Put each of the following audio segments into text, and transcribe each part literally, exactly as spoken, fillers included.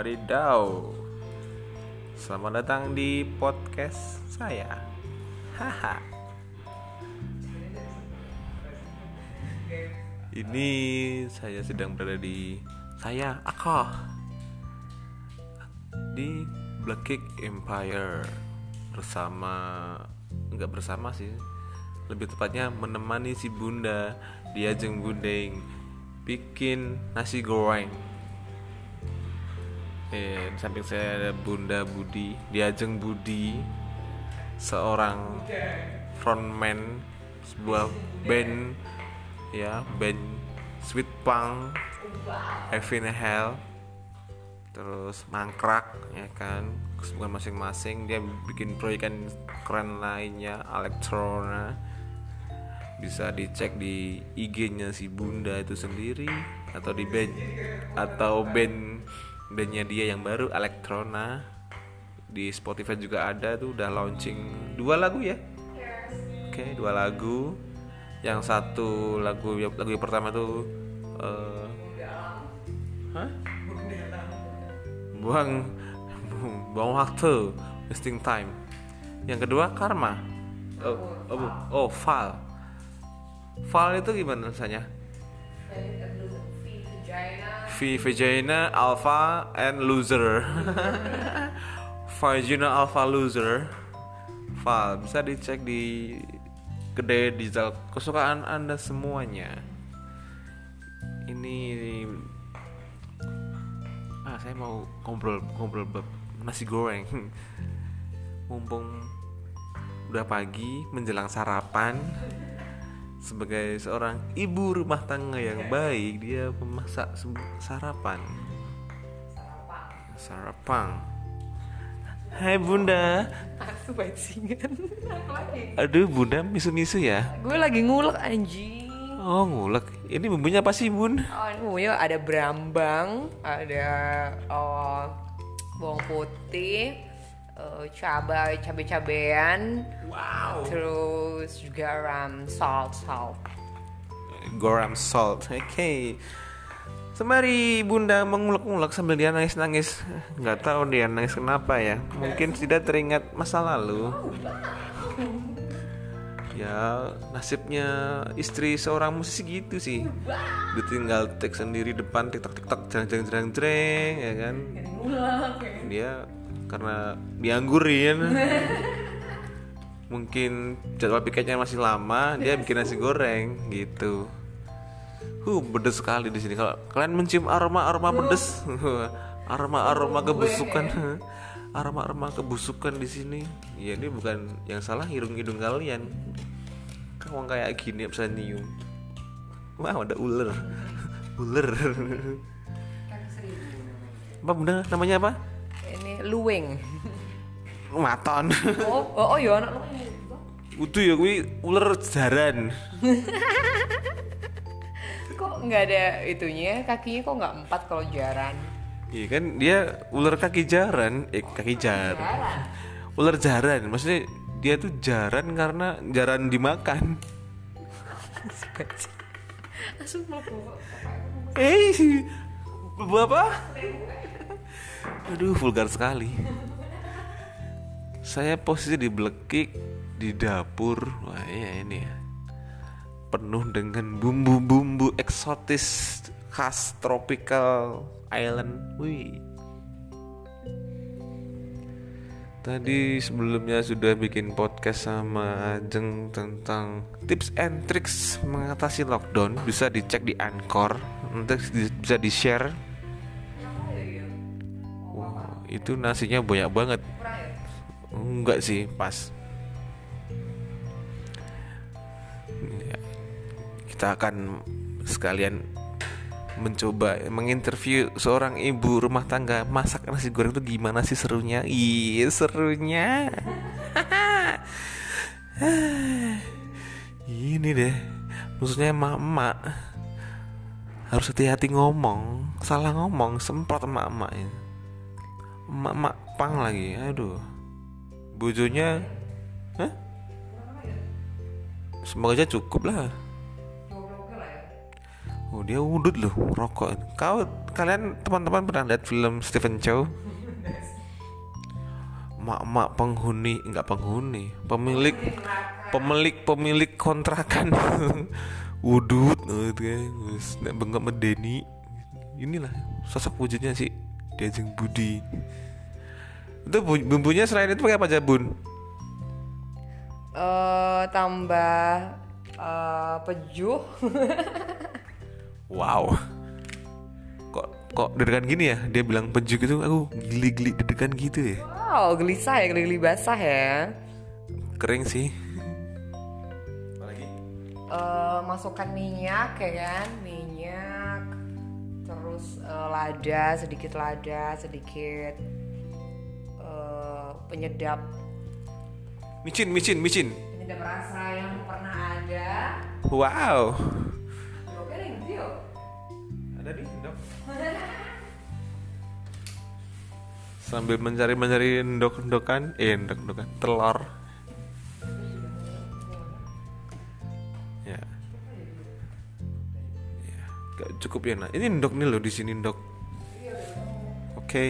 Wadidaw. Selamat datang di podcast saya. Haha. Ini saya sedang berada di saya aku di Black Kick Empire bersama enggak bersama sih. Lebih tepatnya menemani si Bunda di ajeng bundeng bikin nasi goreng. Eh, di samping saya ada Bunda Budi, Diajeng Budi, seorang frontman sebuah band, ya band Sweet Punk, Heaven Hell, terus Mangkrak, ya kan, kesibukan masing-masing. Dia bikin proyekan keren lainnya, Elektrona. Bisa dicek di I G-nya si Bunda itu sendiri atau di band atau band bandnya dia yang baru Elektrona. Di Spotify juga ada tuh, udah launching dua lagu ya. Oke, okay, dua lagu. Yang satu lagu lagu yang pertama tuh uh, Hah? Buang buang waktu, wasting time. Yang kedua Karma. Oh, oh, oh, Val. Val itu gimana rasanya? V Vagina Alpha and Loser. Vagina Alpha Loser. Val bisa dicek di kedai digital kesukaan Anda semuanya. Ini ah saya mau ngobrol ngobrol bab nasi goreng. Mumpung udah pagi menjelang sarapan. Sebagai seorang ibu rumah tangga yang baik, dia memasak sarapan. Sarapan. Hai Bunda. Aku bajingan. Aduh Bunda, misu-misu ya. Gue lagi ngulek anjing. Oh ngulek. Ini bumbunya apa sih Bun? Oh ini bumbunya ada berambang, ada oh, bawang putih, uh, cabai cabai-cabean. Wow. Terus juga um, salt salt. Garam salt. Oke. Okay. Sembari Bunda mengulek-ulek sambil dia nangis-nangis. Nggak tahu dia nangis kenapa ya. Mungkin tidak teringat masa lalu. Ya nasibnya istri seorang musisi gitu sih. Dia tinggal take sendiri depan tiktok tiktok jreng jreng jreng jreng ya kan. Dia karena dianggurin. Mungkin jadwal piketnya masih lama, dia bikin nasi goreng gitu. Huh, pedes sekali di sini. Kalau kalian mencium aroma-aroma pedes, aroma-aroma kebusukan, aroma-aroma kebusukan di sini. Ya ini bukan yang salah hidung-hidung kalian. Kamu kayak gini bisa nyium. Wah, ada ular. Ular. Apa Bunda namanya apa? Ini luweng. Maton. Oh, oh, oh ya anak lu. Udah ya kuwi ular jaran. Kok nggak ada itunya? Kakinya kok nggak empat kalau jaran? Iya kan dia ular kaki jaran, eh kaki jaran. Jaran. Ular jaran, maksudnya dia tuh jaran karena jaran dimakan. Eh, apa? Aduh, vulgar sekali. Saya posisi di Black Kick di dapur. Wah iya ini ya, penuh dengan bumbu-bumbu eksotis khas tropical island. Wih. Tadi sebelumnya sudah bikin podcast sama Ajeng tentang tips and tricks mengatasi lockdown. Bisa dicek di Anchor, nanti bisa di share. Wow, itu nasinya banyak banget. Enggak sih, pas. Kita akan sekalian mencoba menginterview seorang ibu rumah tangga masak nasi goreng itu gimana sih serunya. Iya serunya. Ini deh, maksudnya emak-emak harus hati-hati ngomong. Salah ngomong semprot emak-emak ya. Emak-emak pang lagi, aduh. Bojonya, hah? Semoga aja cukup lah. Oh dia udut loh, rokok. Kau kalian teman-teman pernah lihat film Stephen Chow? Mak-mak penghuni, enggak penghuni, pemilik pemilik pemilik kontrakan. Udut, terus nek bengkok medeni. Inilah sosok wujudnya sih Diajeng Budi. Itu bumbunya selain itu pakai apa aja bun? Eh tambah eh, pejuh. Wow. Kok kok deg-degan gini ya? Dia bilang peju gitu, aku geli-geli deg-degan gitu ya. Wow, gelisah ya, geli-geli basah ya. Kering sih. Apalagi? Eh masukkan minyak ya kan, minyak. Terus eh, lada, sedikit lada, sedikit eh, penyedap Micin, micin, micin. penyedap rasa yang pernah ada. Wow. Oke nih, Tio. Ada nih, Dok. Sambil mencari-mencari endok-endokan, eh endok-endokan telur. Ya. Ya, gak cukup ya, nah. Ini endok nih loh di sini, endok. Oke. Okay.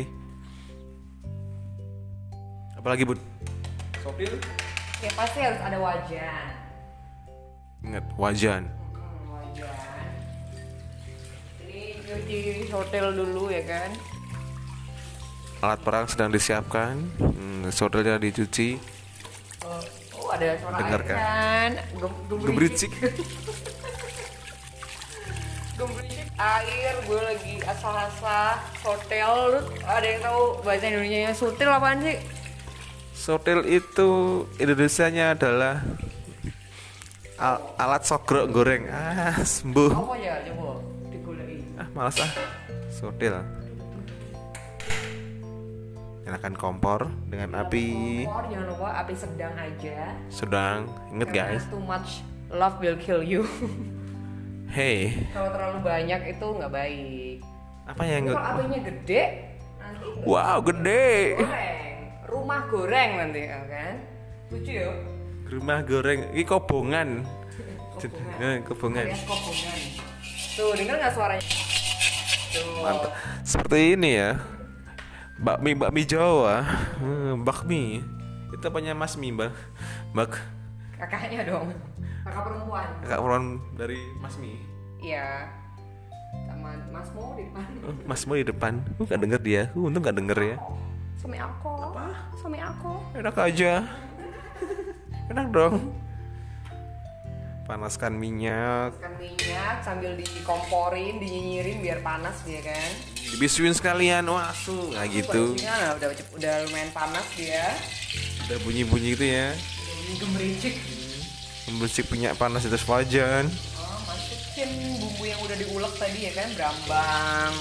Apalagi, Bun? Sopil? Ya pasti harus ada wajan. Ingat, wajan. Hmm, wajan. Ini cuci sotel dulu ya kan. Alat perang sedang disiapkan. Hmm, sodelnya dicuci. Oh, oh ada suara Dengarkan. air kan. Gem- Gemericik. Gemericik air, gue lagi asal-asal sotel. Lu ada yang tahu bahasa Indonesianya sotel apaan sih? Sotil itu Indonesianya adalah al- alat sogrok goreng. Ah, sembuh. Apa ya coba digulai. Ah, malas ah. Sotil. Nyalakan kompor dengan api Kompor, jangan lupa api sedang aja. sedang. Ingat Karena guys. too much love will kill you. Hey, Kalau terlalu banyak itu nggak baik. apa yang Kalau nggak? apinya gede, nanti Wow, gede. goreng. Rumah goreng nanti ya kan. Lucu ya. Rumah goreng. Ini kobongan. Kobongan. Eh, kobongan. Alias kobongan. Tuh, denger nggak suaranya? Tuh. Mantap. Seperti ini ya. Bakmi bakmi Jawa. Hmm, bakmi. Itu apanya Mas Mi, Mbak? Mbak. Kakaknya dong. Kakak perempuan. Kakak perempuan dari Mas Mi. Iya. Sama Mas Mo di depan. Oh, Mas Mo di depan. Uh, gak denger dia. Uh, untung gak denger ya. Suami aku. Apa? Suami aku. Enak aja. Enak dong. Panaskan minyak. Masukkan minyak sambil dikomporin, dinyinyirin biar panas dia kan. Dibisuin sekalian. Wah, su. Nah gitu. Basuhnya nah, udah udah lumayan panas dia. Udah bunyi-bunyi gitu ya. Udah bunyi gemericik. Membusik minyak panas di atas wajan. Oh, masukin bumbu yang udah diulek tadi ya kan, berambang.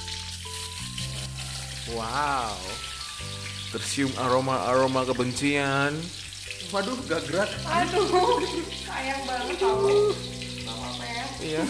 Wow. Tercium aroma-aroma kebencian. Waduh, gak gerak. Aduh, sayang banget tau. Apa ya? Iya.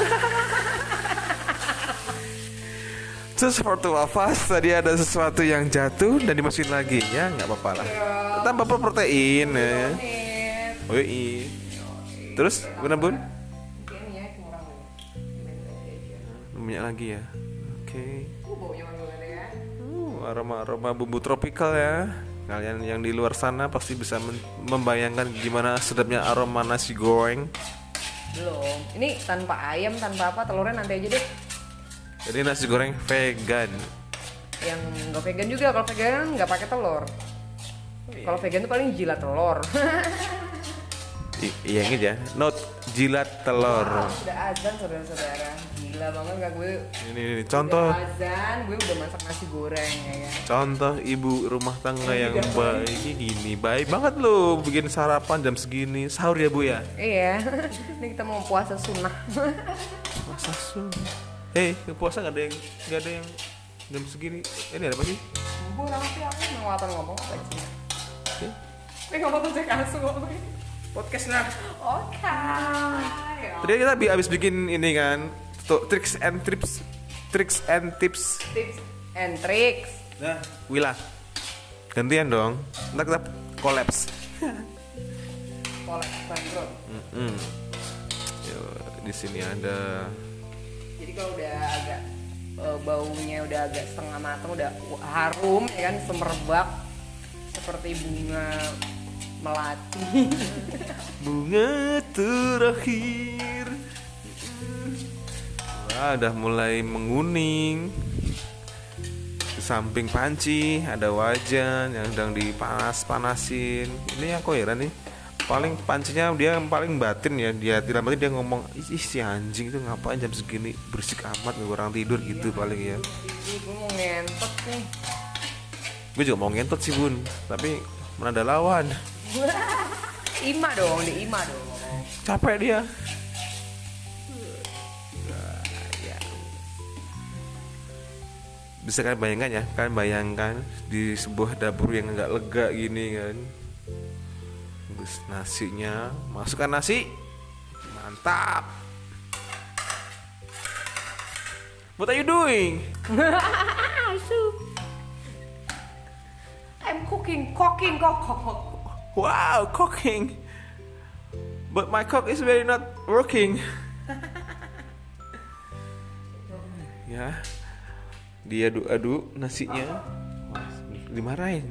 Sesuatu nafas tadi ada sesuatu yang jatuh dan dimasukin lagi ya, nggak apa-apa lah. Tambah protein ya. Menit. Oh iya. Terus gimana bun? Mungkin ya kurang nih. Minyak lagi ya. Oke. Uh, baunya wangi banget ya. Uh, aroma-aroma bumbu tropikal ya. Kalian yang di luar sana pasti bisa men- membayangkan gimana sedapnya aroma nasi goreng. Belum. Ini tanpa ayam, tanpa apa, telurnya nanti aja deh. Jadi nasi goreng vegan. Yang nggak vegan juga, kalau vegan nggak pakai telur. Kalau vegan tuh paling jilat telur. I- iya inget ya. Note jilat telur. Wah, sudah azan saudara-saudara. Gila banget gak gue. Ini, ini contoh Udah azan, gue udah masak nasi goreng ya kan. contoh ibu rumah tangga yang baik ini baik banget loh bikin sarapan jam segini sahur ya bu ya. Iya. Ini kita mau puasa sunnah. Masa sun? Eh, puasa nggak ada yang nggak ada yang jam segini. Ini ada apa sih? Gue orang sih aku ngelawan ngomong apa sih? Oke. Ini ngomong tuh saya kasu ngomong. Podcast nah. Oke. Tadi kita bi- habis bikin ini kan, tuh, tricks and tips, tricks and tips. Tips and tricks. Nah, Wila, gantian dong. Ntar kita kolaps. Kolek bangkrut. Mm-mm. Yo, di sini ada Jadi kalau udah agak uh, baunya udah agak setengah matang, udah harum ya kan, semerbak seperti bunga melati. Bunga terakhir. Wah, udah mulai menguning. Di samping panci ada wajan yang sedang dipanas-panasin. Ini aku heran nih. Paling pancinya dia yang paling batin ya, dia tidak batin dia ngomong, ih si anjing itu ngapain jam segini berisik amat, orang tidur gitu iya, paling ya. Ini gue mau ngentot nih. Gue juga mau ngentot sih bun, tapi mana ada lawan. Ima dong, di Ima dong. Capek dia. Bisa kan bayangkan ya, kan bayangkan di sebuah dapur yang agak lega gini kan. Terus nasinya, masukkan nasi, mantap. What are you doing? I'm cooking, cooking, cook, cook, cook. Wow, cooking. But my cock is very not working. Ya, diaduk-aduk nasinya, dimarahin.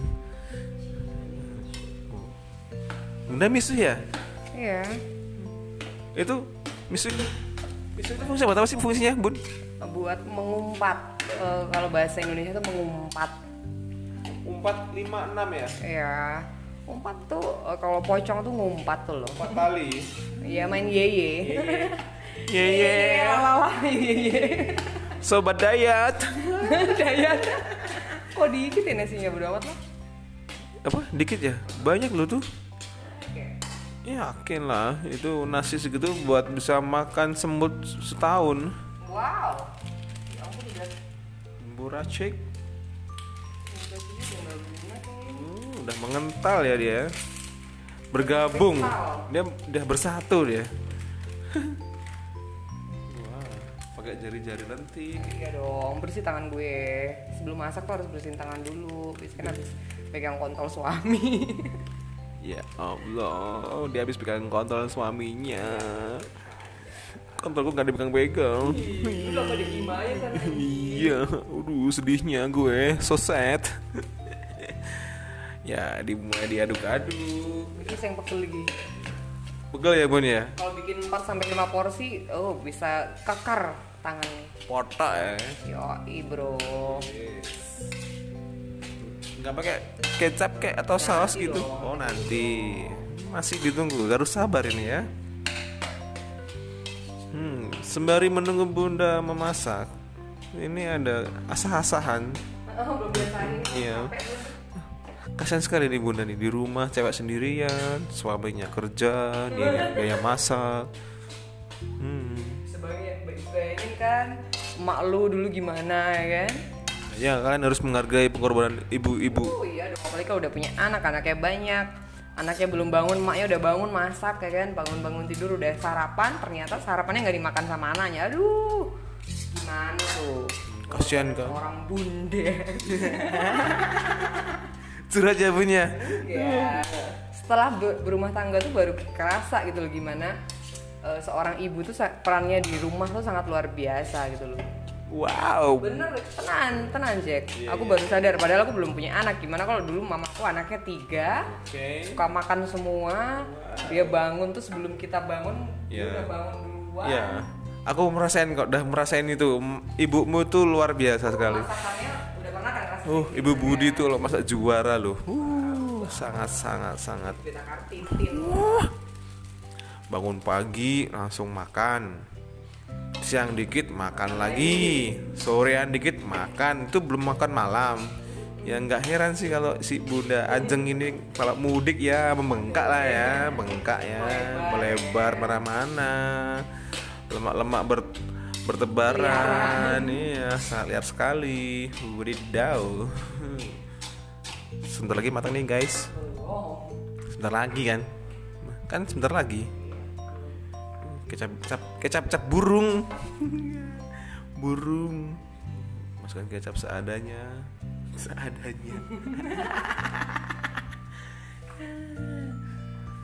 Bunda misu ya? Iya. Itu misu, misu itu fungsi apa sih fungsinya, Bun? Buat mengumpat. E, kalau bahasa Indonesia itu mengumpat. Umpat lima enam ya? Iya. Umpat tuh e, kalau pocong tuh ngumpat tuh loh. Umpat tali. Iya, main yeye. Yeye. Lala yeye. Sobat Dayat. Dayat. Kok dikit ya nasinya bodo amat lah. Apa? Dikit ya? Banyak loh tuh. Yakin lah, itu nasi segitu buat bisa makan semut setahun. Wow. Ya ampun udah. Buracek. Hmm, udah mengental ya dia. Bergabung. Dia udah bersatu dia. Wah, pakai jari-jari lentik. Iya dong, bersih tangan gue. Sebelum masak tuh harus bersihin tangan dulu. Biasanya kan habis pegang kontol suami. Ya Allah, dia habis pegang kontol suaminya. Kontolku gak dipegang-pegang. Iya, aduh sedihnya gue, so sad. Ya, dimulai diaduk-aduk. Ini yang pegel lagi. Pegel ya Bun ya? Kalau bikin empat sampai lima porsi, oh bisa kekar tangannya. Potak ya. Yoi bro. Nggak pakai kecap kayak atau saus gitu? Oh nanti, masih ditunggu, harus sabar ini ya. Hmm, sembari menunggu Bunda memasak, ini ada asah-asahan. Oh, belum biasain. Iya. Kasian sekali nih Bunda nih di rumah cewek sendirian, suaminya kerja, dia gaya masak. Hmm. Sebagai bayangin kan, emak lu dulu gimana ya kan? Ya kalian harus menghargai pengorbanan ibu-ibu. Oh iya dong, apalagi kalau udah punya anak, anaknya banyak. Anaknya belum bangun, emaknya udah bangun masak ya kan. Bangun-bangun tidur udah sarapan, ternyata sarapannya nggak dimakan sama anaknya. Aduh, gimana tuh? Kasian kan. Orang bunda. Curhat ya punya. Ya. Setelah ber- berumah tangga tuh baru kerasa gitu loh gimana uh, seorang ibu tuh sa- perannya di rumah tuh sangat luar biasa gitu loh. Wow. Bener, tenang, tenang Jack. Yeah, aku yeah. baru sadar, padahal aku belum punya anak. Gimana kalau dulu mamaku anaknya tiga, Okay. suka makan semua. Wow. Dia bangun tuh sebelum kita bangun, Yeah. dia udah bangun duluan. Iya. Aku merasain kok, udah merasain itu. Ibumu tuh luar biasa sekali. Masakannya udah pernah kan rasanya? Uh, Ibu Budi tuh loh masak juara loh. Uh, sangat sangat sangat. Kita kartitin. Uh, bangun pagi langsung makan. Siang dikit makan lagi, sorean dikit makan, itu belum makan malam. Ya nggak heran sih kalau si Bunda Ajeng ini kalau mudik ya membengkak lah ya, bengkak ya, melebar mana-mana, lemak-lemak ber, bertebaran, iya sangat liar sekali. Wadidaw. Sebentar lagi matang nih guys. Sebentar lagi kan, kan sebentar lagi. Kecap kecap kecap kecap burung. Burung. Masukkan kecap seadanya. Seadanya.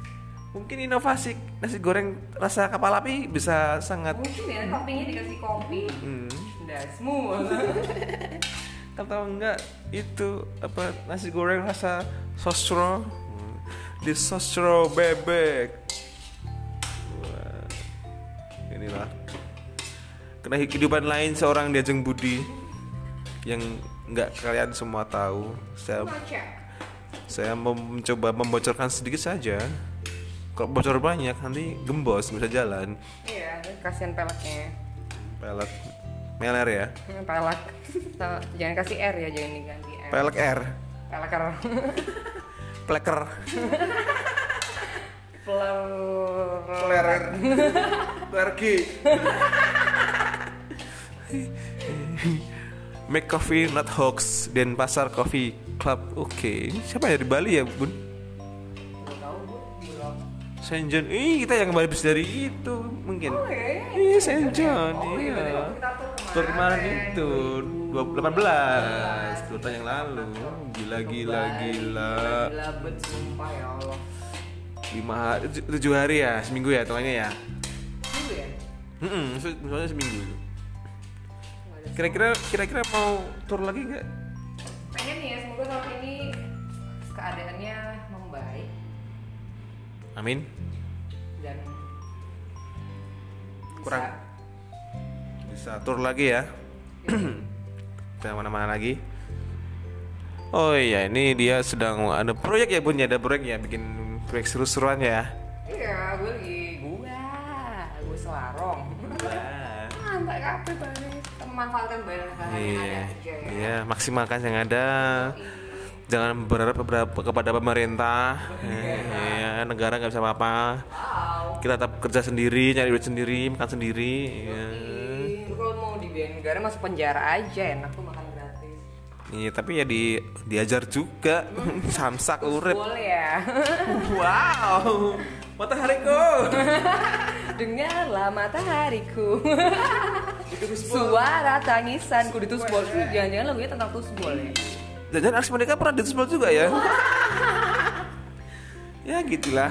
Mungkin inovasi nasi goreng rasa kapal api bisa sangat. Mungkin ya toppingnya dikasih kopi. Hmm. Udah semua. Atau enggak itu apa nasi goreng rasa sosro. Hmm. Di sosro bebek. Wah. Inilah kena kehidupan lain seorang Diajeng Budi yang enggak kalian semua tahu. Saya saya mau mencoba membocorkan sedikit saja. Kalau bocor banyak nanti gembos bisa jalan. Iya, kasihan peleknya. Pelek meler ya. Hmm, pelek. Jangan kasih R ya, jangan diganti R. Pelek R. Peleker. Pleker. Plerer. Pergi. Make Coffee Not Hoax Denpasar Coffee Club. Oke, okay. Siapa ya di Bali ya, Bun? Saint John. Ih, kita yang habis dari itu mungkin. Oh, iya, iya Saint John. Oh, iya. Tur kemarin itu dua ribu delapan belas, dua tahun yang lalu. Gila gila gila. Gila bet sumpah ya Allah. lima hari, tujuh hari ya, seminggu ya hitungannya ya. Seminggu ya? Heeh, misalnya seminggu. Kira-kira kira-kira mau tur lagi enggak? Pengen nih ya, semoga tahun ini keadaannya membaik. Amin. Dan kurang bisa tur lagi ya. Bisa mana-mana lagi. Oh iya, ini dia sedang ada proyek ya Bun ya, ada proyek ya, bikin proyek seru-seruan ya. Iya, gue lagi gua, gue selarong. Mantap kape banget. Kita memanfaatkan banyak hal yang Iya, ada aja ya. iya, maksimalkan yang ada. Jangan berharap beberapa kepada pemerintah. Ya, negara nggak bisa apa-apa. Wow. Kita tetap kerja sendiri, nyari duit sendiri, makan sendiri. Ya. Lu kalau mau dibiayain negara masuk penjara aja, enak tuh makan gratis. Iya, tapi ya di diajar juga. Samsak urip. Boleh ya. Wow, matahariku. Dengarlah matahariku. Suara tangisanku di Tusbol. Jangan-jangan lagunya tentang Tusbol ya. Dan Ars Monika pernah di Tusbol juga ya. Ya gitulah.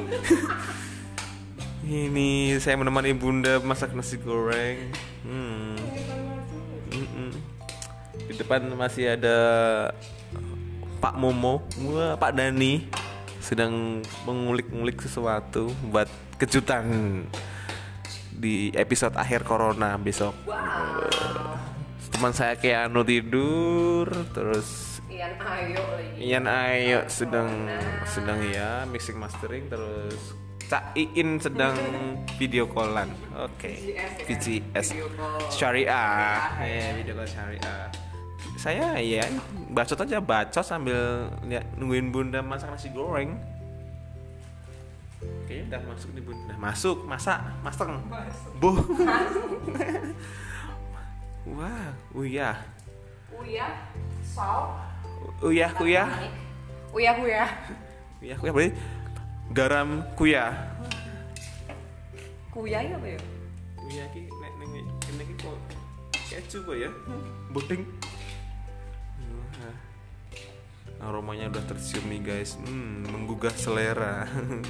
Ini saya menemani Bunda masak nasi goreng. Hmm. Mm-mm. Di depan masih ada Pak Momo, wah, Pak Dani sedang mengulik-ngulik sesuatu buat kejutan di episode akhir Corona besok. Wow. Teman saya Keanu tidur, terus Ian Ayo lagi. Ian Ayo sedang sedang ya mixing mastering, terus Cak Iin sedang video callan. Oke. V G S Syariah. Eh, video call Syariah. Saya ya bacot aja, bacot sambil lihat nungguin Bunda masak nasi goreng. Oke, udah masuk nih Bunda. Udah masuk, masak, masak. Buh. Wah, uyah. Uyah, salt. Uyah, kuyah. Uyah, kuyah. Uyah, kuyah berarti garam kuyah. Kuyah apa ya? Uyah ki nek ning kene ki kok keju kok ya. Bodeng. Wah. Aromanya udah tercium nih guys. Hmm, menggugah selera.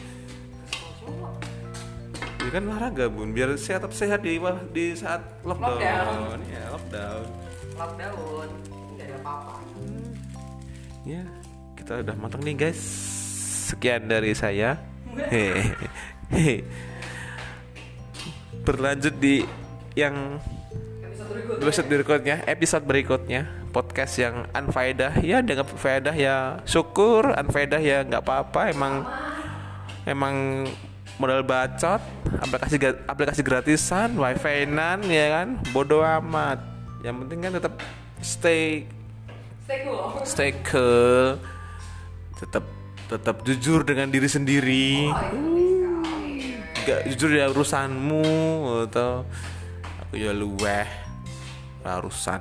Ini kan olahraga Bun, biar sehat sehat di di saat lockdown. Lockdown. Ya, lockdown. Lockdown. Enggak ada apa-apa. Ya, kita udah matang nih guys. Sekian dari saya. Hehehe. Berlanjut di yang episode berikutnya, episode berikutnya, podcast yang unfaedah. Ya, dengan faedah ya syukur, unfaedah ya nggak apa-apa. Emang emang modal bacot, aplikasi aplikasi gratisan, wifi-nan ya kan, bodoh amat. Yang penting kan tetap stay Stay cool. stay cool, tetap tetap jujur dengan diri sendiri. Gak jujur ya urusanmu atau aku ya luweh urusan.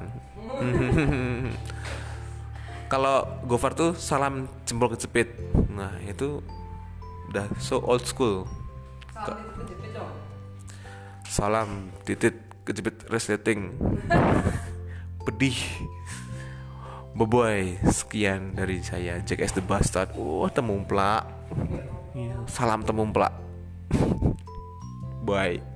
Kalau Gofar tuh salam jempol kejepit. Nah, itu udah so old school. Salam titik kejepit dong. Salam titit kejepit resleting. Pedih. Boboy, sekian dari saya Jack S the Bastard. Wah, temumplak. Iya, salam temumplak. Bye.